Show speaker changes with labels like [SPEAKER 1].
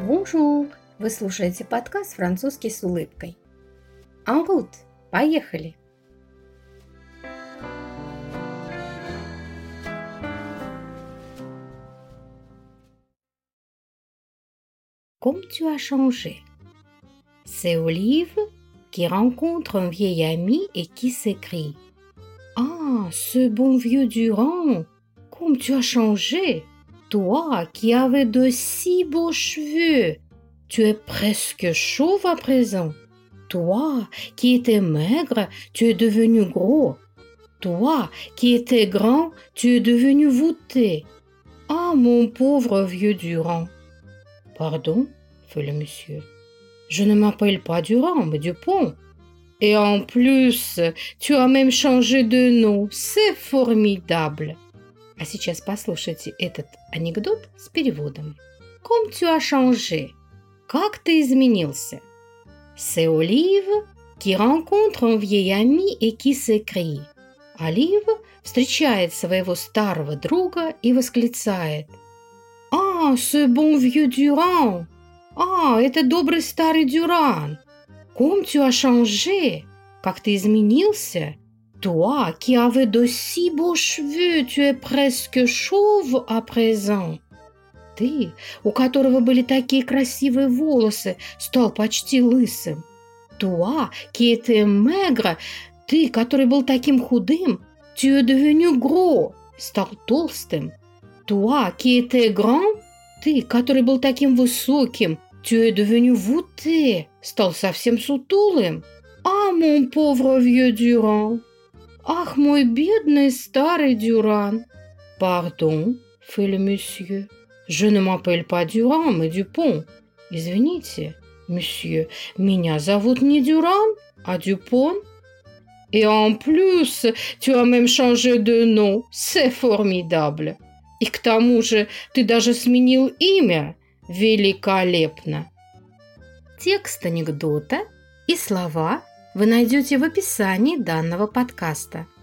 [SPEAKER 1] Бонжур! Вы слушаете подкаст «Французский с улыбкой». En route! Поехали! Comme tu as changé. C'est Olive qui rencontre un vieil ami et qui s'écrie: Ah, ce bon vieux Durand, comme tu as changé! Toi qui avais de si beaux cheveux, tu es presque chauve à présent. Toi qui étais maigre, tu es devenu gros. Toi qui étais grand, tu es devenu voûté. Ah, mon pauvre vieux Durand. Pardon, fait le monsieur. Je ne m'appelle pas Durand, mais Dupont. Et en plus, tu as même changé de nom. C'est formidable. А сейчас послушайте этот анекдот с переводом. Comme tu as changé? Как ты изменился? C'est Olive qui rencontre un vieil ami et qui s'écrie. Олив встречает своего старого друга и восклицает: Ah, ce bon vieux Durand! Ah, это добрый старый Дюран! Comme tu as changé? Как ты изменился? Toi qui avais de si beaux cheveux, tu es presque chauve à présent. Ты, у которого были такие красивые волосы, стал почти лысым. Toi qui étais maigre, ты, который был таким худым, tu es devenu gros, стал толстым. Toi qui étais grand, ты, который был таким высоким, tu es devenu voûté, стал совсем сутулым. Ah, mon pauvre vieux Durand. Ах, мой бедный старый Дюран. Pardon, fait le monsieur. Je ne m'appelle pas Durand, mais Dupont. Извините, monsieur, меня зовут не Дюран, а Дюпон. Et en plus, tu as même changé de nom. C'est formidable. И к тому же ты даже сменил имя. Великолепно. Текст анекдота и слова вы найдете в описании данного подкаста.